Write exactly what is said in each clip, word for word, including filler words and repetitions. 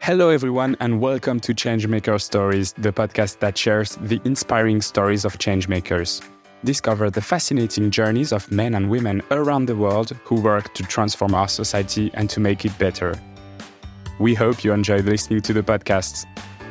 Hello, everyone, and welcome to Changemaker Stories, the podcast that shares the inspiring stories of changemakers. Discover the fascinating journeys of men and women around the world who work to transform our society and to make it better. We hope you enjoyed listening to the podcast.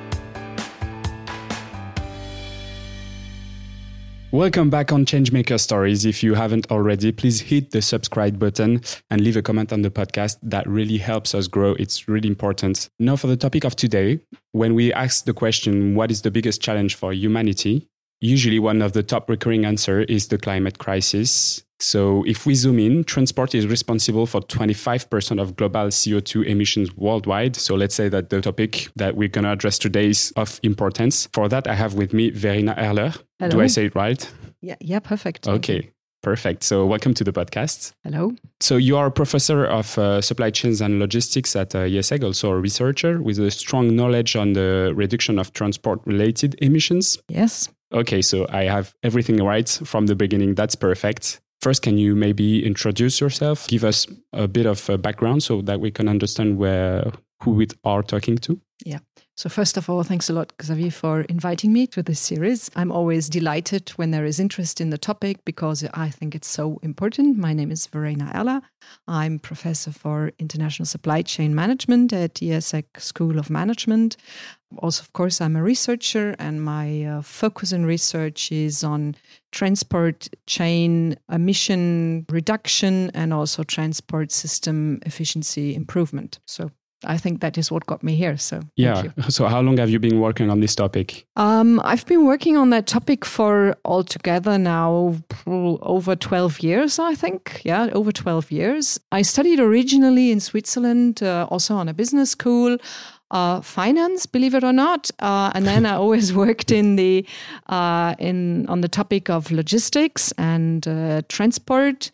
Welcome back on Changemaker Stories. If you haven't already, please hit the subscribe button and leave a comment on the podcast. That really helps us grow. It's really important. Now for the topic of today, when we ask the question, what is the biggest challenge for humanity? Usually one of the top recurring answers is the climate crisis. So if we zoom in, transport is responsible for twenty-five percent of global C O two emissions worldwide. So let's say that the topic that we're going to address today is of importance. For that, I have with me Verena Erler. Hello. Do I say it right? Yeah, yeah, perfect. Okay, perfect. So welcome to the podcast. Hello. So you are a professor of uh, supply chains and logistics at uh, I E S E G, also a researcher with a strong knowledge on the reduction of transport-related emissions. Yes. Okay, so I have everything right from the beginning. That's perfect. First, can you maybe introduce yourself, give us a bit of a background so that we can understand where who we are talking to? Yeah. So first of all, thanks a lot, Xavier, for inviting me to this series. I'm always delighted when there is interest in the topic because I think it's so important. My name is Verena Erler. I'm professor for international supply chain management at I E S E G School of Management. Also, of course, I'm a researcher, and my uh, focus in research is on transport chain emission reduction and also transport system efficiency improvement. So I think that is what got me here. So yeah. Thank you. So how long have you been working on this topic? Um, I've been working on that topic for altogether now over twelve years, I think. Yeah, over twelve years. I studied originally in Switzerland, uh, also on a business school. Uh, finance, believe it or not, uh, and then I always worked in the uh, in on the topic of logistics and uh, transport,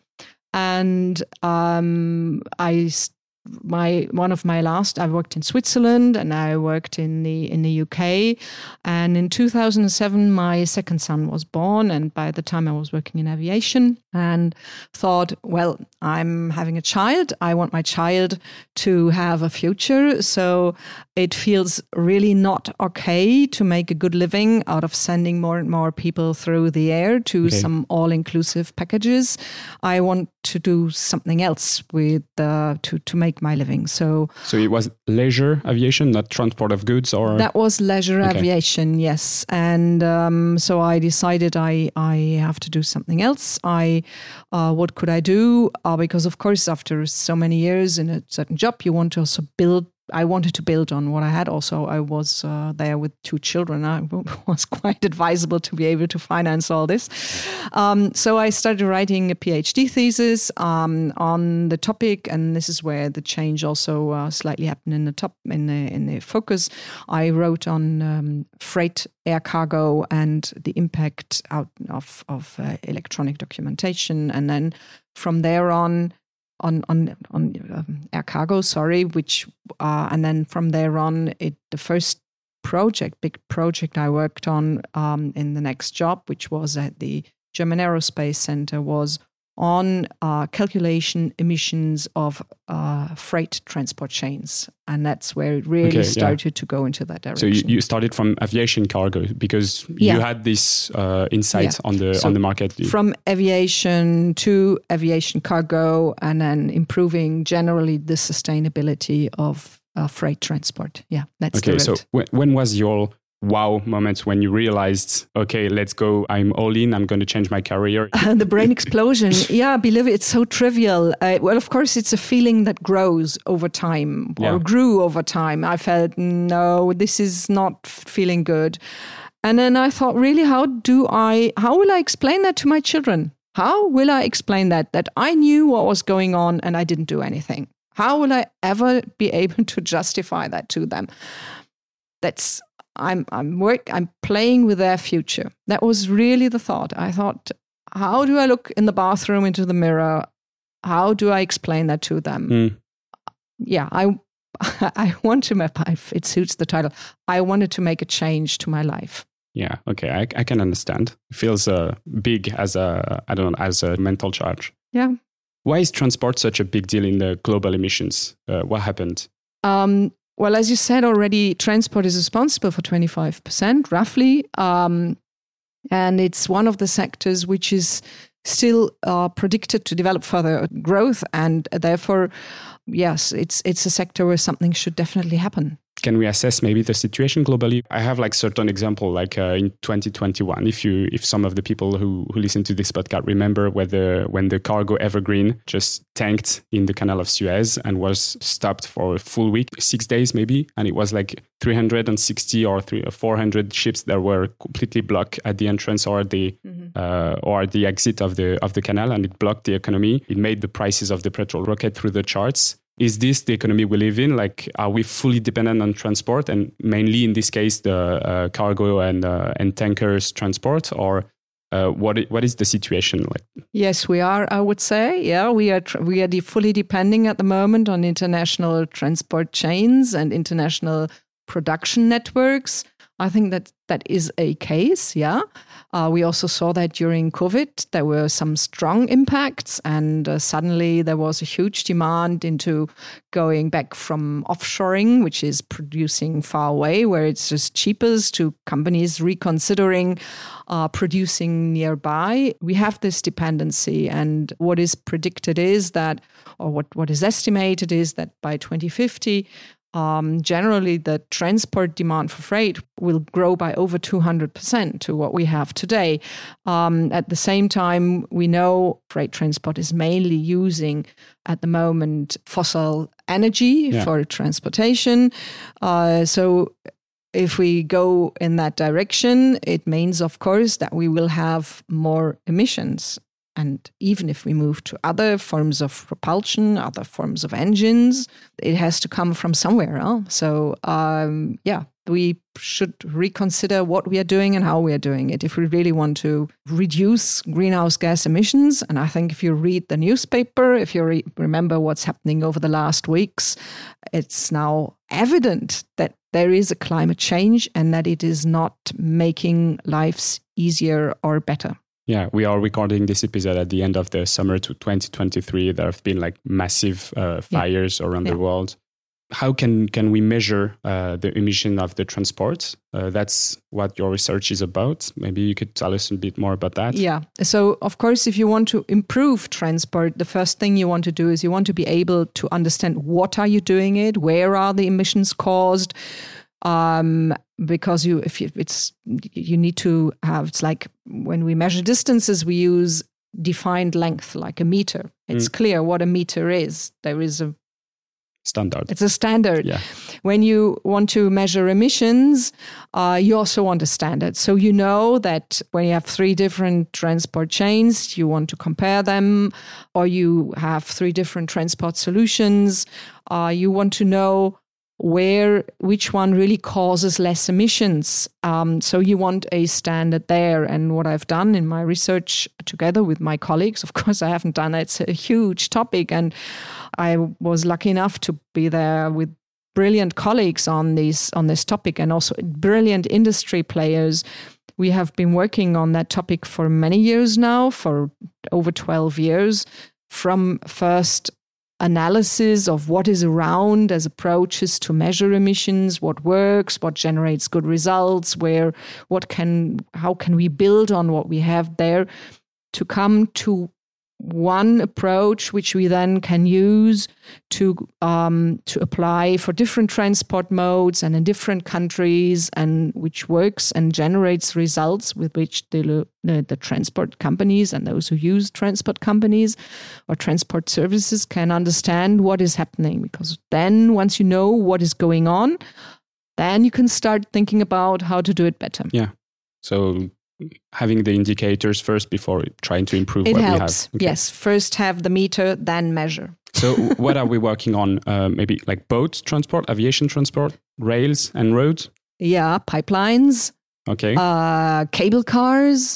and um, I my one of my last I worked in Switzerland and I worked in the in the U K, and in two thousand seven my second son was born, and by the time I was working in aviation and thought, well, I'm having a child, I want my child to have a future, so it feels really not okay to make a good living out of sending more and more people through the air to okay. some all-inclusive packages. I want to do something else with uh, to to make my living. So, so it was leisure aviation, not transport of goods, or that was leisure okay. aviation, yes. And um, so I decided I I have to do something else. I uh, what could I do? Uh, because of course, after so many years in a certain job, you want to also build. I wanted to build on what I had. Also, I was uh, there with two children. I was quite advisable to be able to finance all this. Um, so I started writing a PhD thesis um, on the topic, and this is where the change also uh, slightly happened in the top in the in the focus. I wrote on um, freight, air cargo, and the impact out of of uh, electronic documentation, and then from there on. on on on um, air cargo, sorry, which uh, and then from there on, it the first project, big project I worked on um, in the next job, which was at the German Aerospace Center, was on uh, calculation emissions of uh, freight transport chains. And that's where it really okay, started yeah. to go into that direction. So you, you started from aviation cargo because yeah. you had this uh, insight yeah. on the so on the market. From aviation to aviation cargo, and then improving generally the sustainability of uh, freight transport. Yeah, that's okay, the route. so w- when was your wow moment when you realized, okay, let's go, I'm all in, I'm going to change my career? The brain explosion. Yeah, believe it, it's so trivial. Uh, well, of course, it's a feeling that grows over time or yeah. grew over time. I felt, no, this is not feeling good. And then I thought, really, how do I, how will I explain that to my children? How will I explain that, that I knew what was going on and I didn't do anything? How will I ever be able to justify that to them? That's, I'm I'm work I'm playing with their future. That was really the thought. I thought, how do I look in the bathroom into the mirror? How do I explain that to them? Mm. Yeah, I I want to make, it suits the title. I wanted to make a change to my life. Yeah, okay, I, I can understand. It feels uh, big as a I don't know as a mental charge. Yeah. Why is transport such a big deal in the global emissions? Uh, what happened? Um, well, as you said already, transport is responsible for twenty-five percent roughly. Um, and it's one of the sectors which is still uh, predicted to develop further growth. And therefore, yes, it's it's a sector where something should definitely happen. Can we assess maybe the situation globally? I have like certain example, like uh, in twenty twenty-one, if you if some of the people who, who listen to this podcast remember whether when the cargo Evergreen just tanked in the Canal of Suez and was stopped for a full week, six days maybe, and it was like three hundred sixty or three or four hundred ships that were completely blocked at the entrance or the mm-hmm. uh, or the exit of the of the canal, and it blocked the economy. It made the prices of the petrol rocket through the charts. Is this the economy we live in? Like, are we fully dependent on transport, and mainly in this case, the uh, cargo and uh, and tankers transport, or uh, what? What is the situation like? Yes, we are. I would say, yeah, we are. Tr- we are de- fully depending at the moment on international transport chains and international production networks. I think that that is a case, yeah. Uh, we also saw that during COVID, there were some strong impacts, and uh, suddenly there was a huge demand into going back from offshoring, which is producing far away, where it's just cheapest, to companies reconsidering uh, producing nearby. We have this dependency, and what is predicted is that, or what, what is estimated is that by twenty fifty, Um, generally, the transport demand for freight will grow by over two hundred percent to what we have today. Um, at the same time, we know freight transport is mainly using, at the moment, fossil energy yeah. for transportation. Uh, so if we go in that direction, it means, of course, that we will have more emissions. And even if we move to other forms of propulsion, other forms of engines, it has to come from somewhere. Huh? So, um, yeah, we should reconsider what we are doing and how we are doing it if we really want to reduce greenhouse gas emissions. And I think if you read the newspaper, if you re- remember what's happening over the last weeks, it's now evident that there is a climate change and that it is not making lives easier or better. Yeah, we are recording this episode at the end of the summer to twenty twenty-three. There have been like massive uh, fires yeah. around yeah. the world. How can, can we measure uh, the emission of the transport? Uh, that's what your research is about. Maybe you could tell us a bit more about that. Yeah. So, of course, if you want to improve transport, the first thing you want to do is you want to be able to understand what are you doing it, where are the emissions caused, um, because you, if you, it's, you need to have, it's like when we measure distances, we use defined length, like a meter. It's mm. clear what a meter is. There is a standard. It's a standard. Yeah. When you want to measure emissions, uh, you also want a standard. So you know that when you have three different transport chains, you want to compare them, or you have three different transport solutions, uh, you want to know where, which one really causes less emissions. Um, so you want a standard there. And what I've done in my research together with my colleagues, of course, I haven't done it. It's a huge topic. And I was lucky enough to be there with brilliant colleagues on these, on this topic, and also brilliant industry players. We have been working on that topic for many years now, for over twelve years, from first analysis of what is around as approaches to measure emissions, what works, what generates good results, where, what can, how can we build on what we have there, to come to one approach which we then can use to um, to apply for different transport modes and in different countries, and which works and generates results with which the, the, the transport companies and those who use transport companies or transport services can understand what is happening. Because then once you know what is going on, then you can start thinking about how to do it better. Yeah. So having the indicators first before trying to improve it what helps. we have. Okay. Yes, first have the meter, then measure. So what are we working on? Uh, maybe like boat transport, aviation transport, rails and roads? Yeah, pipelines. Okay. Uh, cable cars.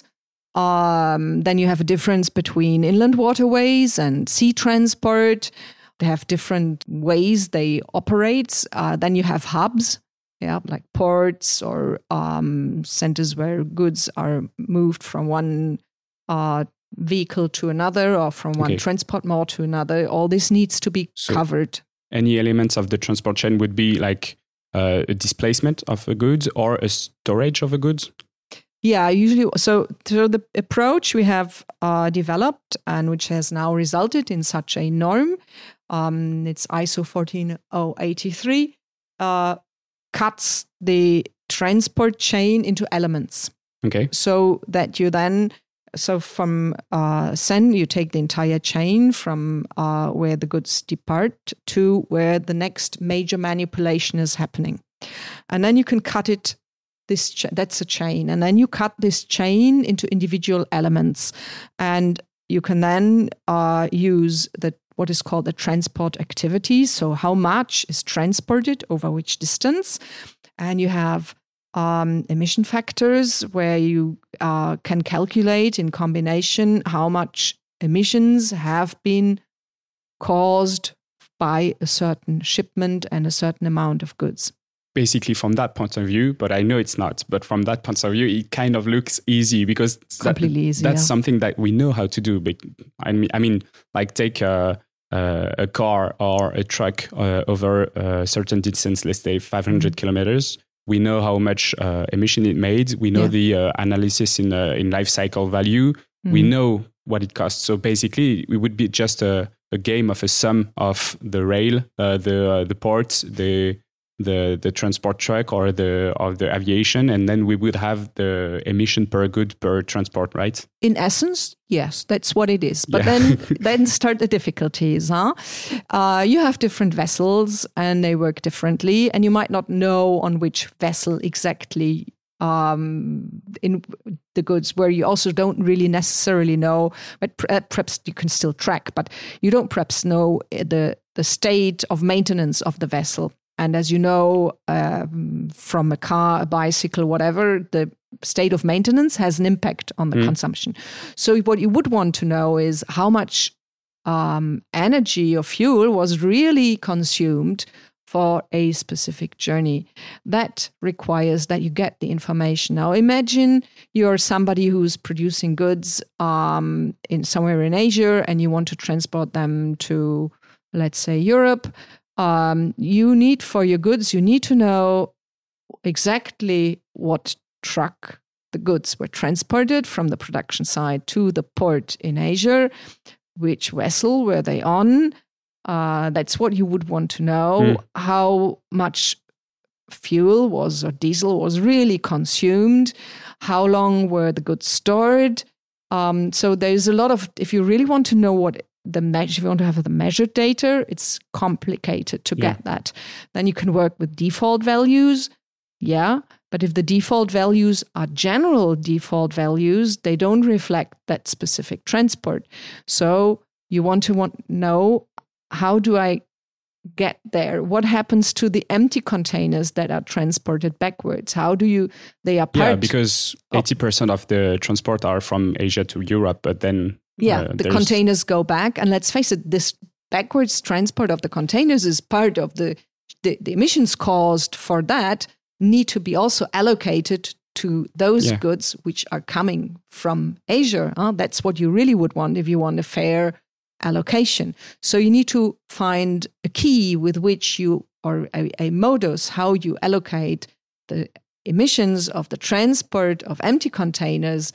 Um, then you have a difference between inland waterways and sea transport. They have different ways they operate. Uh, then you have hubs. Yeah, like ports or um, centers where goods are moved from one uh, vehicle to another, or from one okay. transport mode to another. All this needs to be so covered. Any elements of the transport chain would be like uh, a displacement of a goods or a storage of a goods? Yeah, usually. So, so the approach we have uh, developed and which has now resulted in such a norm, um, it's I S O fourteen thousand eighty-three, uh, cuts the transport chain into elements. Okay. So that you then, so from uh, send, you take the entire chain from uh, where the goods depart to where the next major manipulation is happening. And then you can cut it. This ch- that's a chain, and then you cut this chain into individual elements, and you can then uh, use the what is called the transport activity. So how much is transported over which distance, and you have um, emission factors where you uh, can calculate in combination how much emissions have been caused by a certain shipment and a certain amount of goods. Basically, from that point of view, but I know it's not, but from that point of view, it kind of looks easy because completely that, easy, that's yeah. something that we know how to do. But I mean, I mean like take a, a, a car or a truck uh, over a certain distance, let's say five hundred mm-hmm. kilometers. We know how much uh, emission it made. We know yeah. the uh, analysis in uh, in life cycle value. Mm-hmm. We know what it costs. So basically, it would be just a, a game of a sum of the rail, uh, the uh, the port, the the the transport truck or the of the aviation, and then we would have the emission per good per transport, right? In essence, yes, that's what it is. But yeah. then then start the difficulties, huh? Uh, you have different vessels and they work differently, and you might not know on which vessel exactly um, in the goods, where you also don't really necessarily know, but perhaps you can still track, but you don't perhaps know the the state of maintenance of the vessel. And as you know, um, from a car, a bicycle, whatever, the state of maintenance has an impact on the mm. consumption. So what you would want to know is how much um, energy or fuel was really consumed for a specific journey. That requires that you get the information. Now imagine you're somebody who's producing goods um, in somewhere in Asia and you want to transport them to, let's say, Europe. Um, you need for your goods, you need to know exactly what truck the goods were transported from the production site to the port in Asia, which vessel were they on. Uh, that's what you would want to know, mm. how much fuel was or diesel was really consumed, how long were the goods stored. Um, so there's a lot of, if you really want to know what the measure, if you want to have the measured data, it's complicated to yeah. get that. Then you can work with default values. Yeah. But if the default values are general default values, they don't reflect that specific transport. So you want to want know, how do I get there? What happens to the empty containers that are transported backwards? How do you, they are part? Yeah, because eighty percent of the transport are from Asia to Europe, but then Yeah, uh, the containers go back. And let's face it, this backwards transport of the containers is part of the, the, the emissions caused for that need to be also allocated to those yeah. goods which are coming from Asia. Huh? That's what you really would want if you want a fair allocation. So you need to find a key with which you, or a, a modus, how you allocate the emissions of the transport of empty containers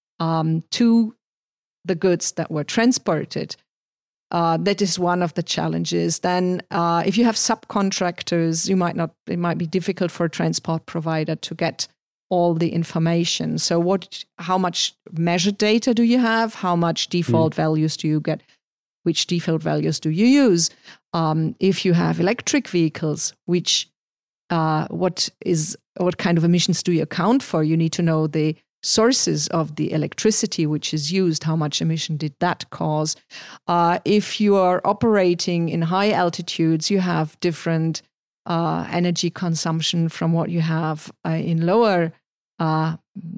um, to the goods that were transported. Uh, that is one of the challenges. Then uh, if you have subcontractors, you might not, it might be difficult for a transport provider to get all the information. So what, how much measured data do you have? How much default mm. values do you get? Which default values do you use? Um, if you have electric vehicles, which uh, what is what kind of emissions do you account for? You need to know the sources of the electricity which is used. How much emission did that cause? Uh, if you are operating in high altitudes, you have different uh, energy consumption from what you have uh, in lower uh,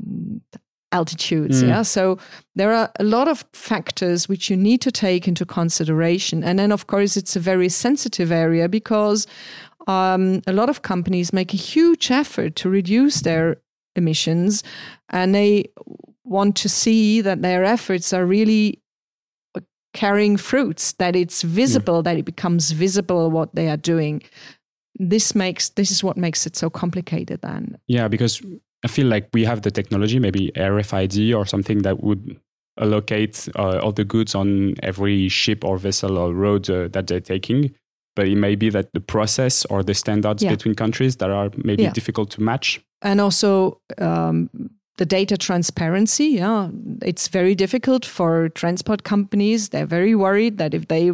altitudes. Mm. Yeah. So there are a lot of factors which you need to take into consideration. And then, of course, it's a very sensitive area because um, a lot of companies make a huge effort to reduce their emissions, and they want to see that their efforts are really carrying fruits, that it's visible, mm. that it becomes visible what they are doing. this makes this is what makes it so complicated then. Yeah, because I feel like we have the technology, maybe R F I D or something that would allocate uh, all the goods on every ship or vessel or road uh, that they're taking. But it may be that the process or the standards yeah. between countries that are maybe yeah. difficult to match. And also um, the data transparency. Yeah, it's very difficult for transport companies. They're very worried that if they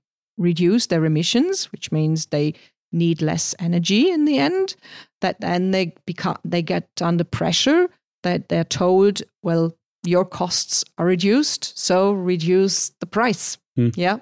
reduce their emissions, which means they need less energy in the end, that then they become they get under pressure, that they're told, well, your costs are reduced, so reduce the price. Hmm. Yeah.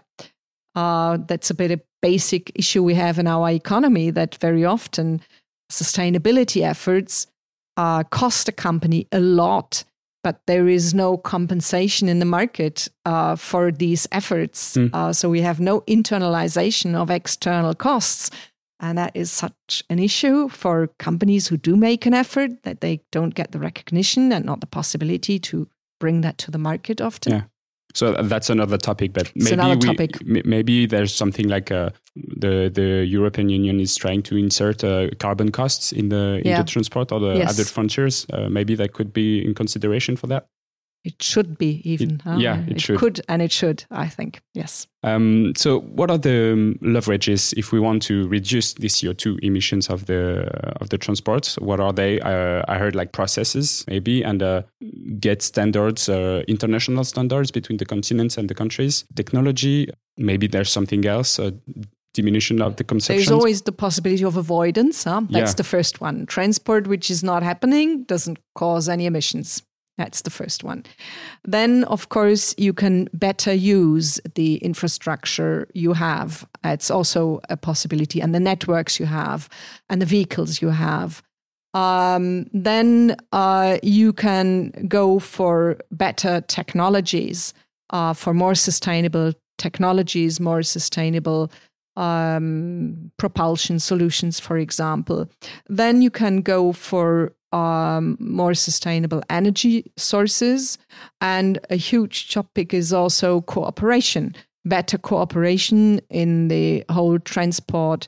Uh, that's a bit a basic issue we have in our economy, that very often sustainability efforts uh, cost a company a lot, but there is no compensation in the market uh, for these efforts. Mm. Uh, so we have no internalization of external costs. And that is such an issue for companies who do make an effort, that they don't get the recognition and not the possibility to bring that to the market often. Yeah. So that's another topic, but it's maybe we, topic. maybe there's something like uh, the the European Union is trying to insert uh, carbon costs in the in yeah. the transport or the yes. other frontiers. Uh, maybe that could be in consideration for that. It should be even. It, huh? Yeah, it, it should. could and it should, I think. Yes. Um, so what are the um, leverages if we want to reduce the C O two emissions of the uh, of the transport? What are they? Uh, I heard like processes maybe, and uh, get standards, uh, international standards between the continents and the countries. Technology, maybe there's something else. Uh, diminution of the consumption. There's always the possibility of avoidance. Huh? That's yeah. the first one. Transport, which is not happening, doesn't cause any emissions. That's the first one. Then, of course, you can better use the infrastructure you have. It's also a possibility, and the networks you have, and the vehicles you have. Um, then uh, you can go for better technologies, uh, for more sustainable technologies, more sustainable um, propulsion solutions, for example. Then you can go for Um, more sustainable energy sources. And a huge topic is also cooperation, better cooperation in the whole transport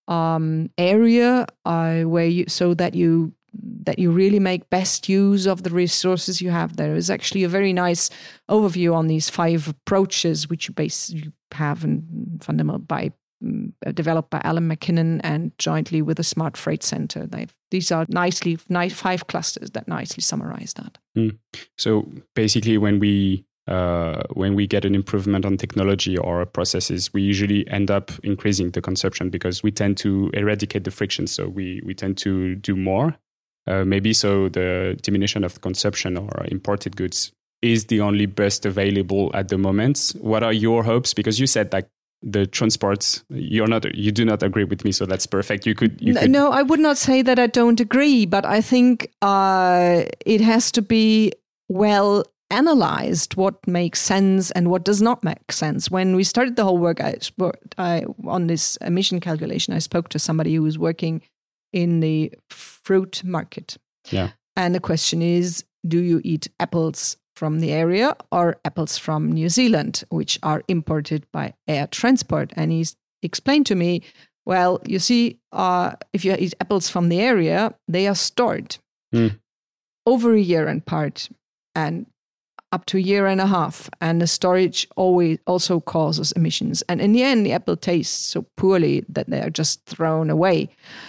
um, area, uh, where you so that you that you really make best use of the resources you have. There is actually a very nice overview on these five approaches, which you basically have in fundamental by developed by Alan McKinnon and jointly with the Smart Freight Center. They've, these are nicely nice five clusters that nicely summarize that. Mm. So basically, when we uh, when we get an improvement on technology or processes, we usually end up increasing the consumption because we tend to eradicate the friction. So we we tend to do more. Uh, maybe so the diminution of consumption or imported goods is the only best available at the moment. What are your hopes? Because you said that the transports, you're not, you do not agree with me, so that's perfect. You could, you could... No, I would not say that I don't agree, but I think uh, it has to be well analyzed what makes sense and what does not make sense. When we started the whole work, I, I on this emission calculation, I spoke to somebody who was working in the fruit market. Yeah, and the question is, do you eat apples from the area or apples from New Zealand, which are imported by air transport? And he explained to me, well, you see, uh, if you eat apples from the area, they are stored mm. over a year in part and up to a year and a half. And the storage always also causes emissions. And in the end, the apple tastes so poorly that they are just thrown away.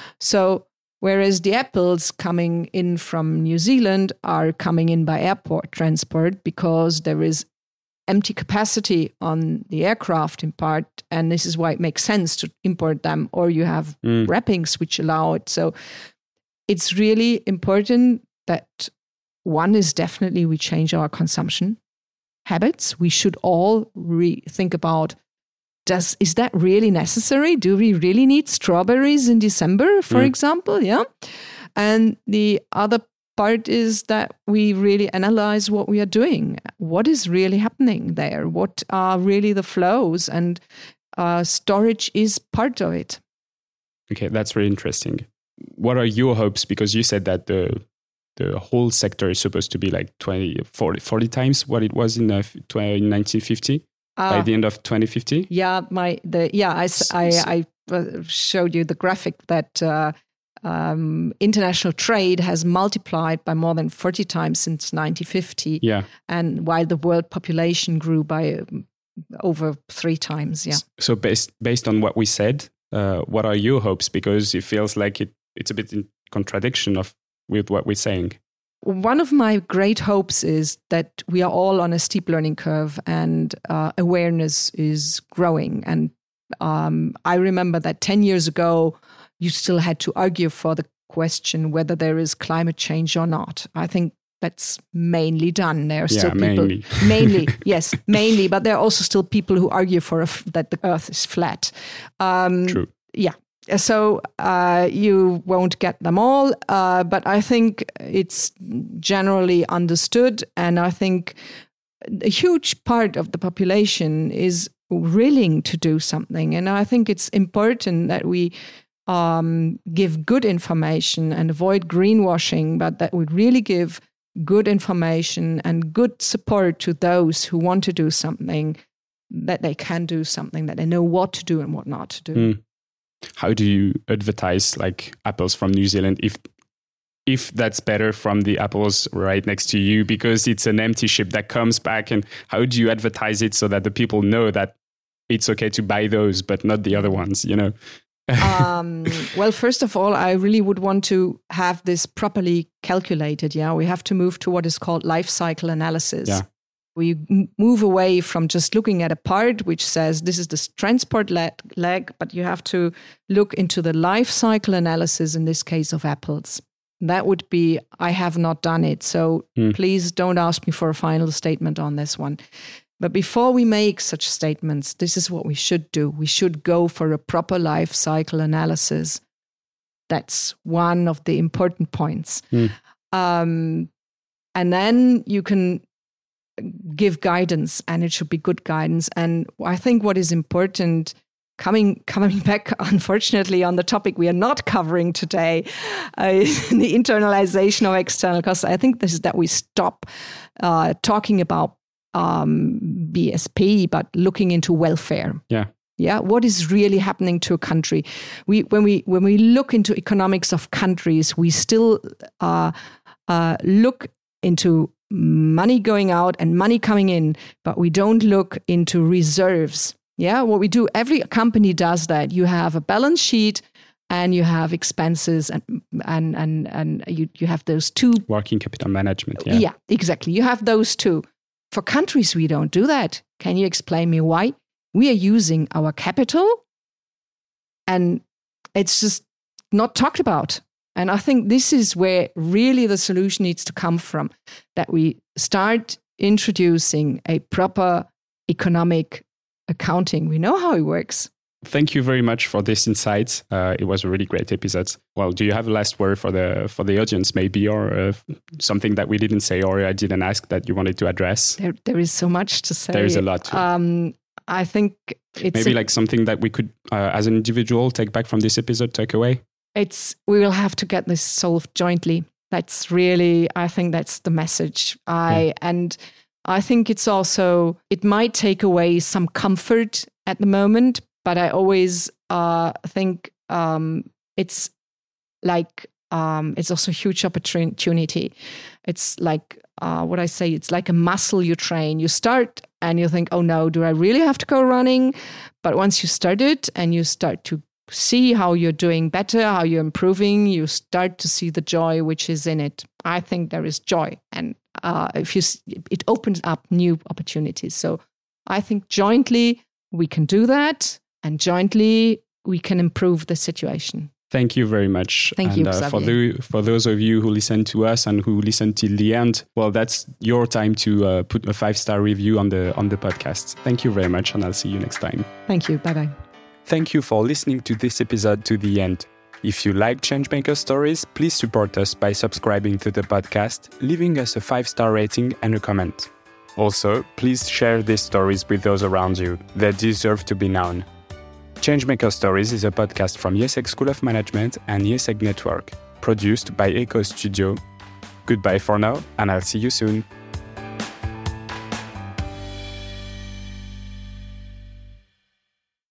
So whereas the apples coming in from New Zealand are coming in by airport transport because there is empty capacity on the aircraft in part, and this is why it makes sense to import them, or you have mm. wrappings which allow it. So it's really important that one is definitely we change our consumption habits. We should all re- think about Does is that really necessary? Do we really need strawberries in December, for mm. example? Yeah. And the other part is that we really analyze what we are doing. What is really happening there? What are really the flows? And uh, storage is part of it. Okay, that's really interesting. What are your hopes? Because you said that the the whole sector is supposed to be like twenty, forty, forty times what it was in, uh, in nineteen fifty. uh, by the end of twenty fifty? Yeah, my the yeah I I, I showed you the graphic that uh, um, international trade has multiplied by more than forty times since nineteen fifty. Yeah, and while the world population grew by um, over three times. Yeah. So based based on what we said, uh, what are your hopes? Because it feels like it it's a bit in contradiction of with what we're saying. One of my great hopes is that we are all on a steep learning curve, and uh, awareness is growing. And um, I remember that ten years ago, you still had to argue for the question whether there is climate change or not. I think that's mainly done. There are yeah, still people, mainly, mainly yes, mainly, but there are also still people who argue for a f- that the Earth is flat. Um, True. Yeah. So uh, you won't get them all, uh, but I think it's generally understood, and I think a huge part of the population is willing to do something. And I think it's important that we um, give good information and avoid greenwashing, but that we really give good information and good support to those who want to do something, that they can do something, that they know what to do and what not to do. Mm. How do you advertise like apples from New Zealand if if that's better from the apples right next to you, because it's an empty ship that comes back? And how do you advertise it so that the people know that it's okay to buy those but not the other ones, you know? um, well, first of all, I really would want to have this properly calculated. Yeah, we have to move to what is called life cycle analysis. Yeah. We move away from just looking at a part which says this is the transport leg, leg, but you have to look into the life cycle analysis, in this case of apples. That would be, I have not done it. So mm. please don't ask me for a final statement on this one. But before we make such statements, this is what we should do. We should go for a proper life cycle analysis. That's one of the important points. Mm. Um, and then you can give guidance, and it should be good guidance. And I think what is important, coming coming back, unfortunately, on the topic we are not covering today, uh, the internalization of external costs. I think this is that we stop uh, talking about um, B S P, but looking into welfare. Yeah. Yeah, what is really happening to a country? We when we when we look into economics of countries, we still uh, uh, look into money going out and money coming in, but we don't look into reserves. Yeah, what we do, every company does that. You have a balance sheet and you have expenses, and and and and you, you have those two. Working capital management. Yeah. Yeah, exactly. You have those two. For countries, we don't do that. Can you explain me why? We are using our capital, and it's just not talked about. And I think this is where really the solution needs to come from, that we start introducing a proper economic accounting. We know how it works. Thank you very much for this insight. Uh, it was a really great episode. Well, do you have a last word for the for the audience, maybe, or uh, something that we didn't say or I didn't ask that you wanted to address? There, there is so much to say. There is a lot. To um, I think it's maybe a, like something that we could, uh, as an individual, take back from this episode, take away. It's we will have to get this solved jointly. That's really, I think that's the message. I yeah. and I think it's also, it might take away some comfort at the moment, but I always uh, think um, it's like um, it's also a huge opportunity. It's like uh, what I say. It's like a muscle you train. You start and you think, oh no, do I really have to go running? But once you start it and you start to see how you're doing better, how you're improving, you start to see the joy which is in it. I think there is joy, and uh, if you, it opens up new opportunities. So I think jointly we can do that, and jointly we can improve the situation. Thank you very much. Thank and, you, uh, for the for those of you who listen to us and who listen till the end, well, that's your time to uh, put a five-star review on the on the podcast. Thank you very much, and I'll see you next time. Thank you. Bye bye. Thank you for listening to this episode to the end. If you like Changemaker Stories, please support us by subscribing to the podcast, leaving us a five-star rating and a comment. Also, please share these stories with those around you. They deserve to be known. Changemaker Stories is a podcast from IESEG School of Management and IESEG Network, produced by Echo Studio. Goodbye for now, and I'll see you soon.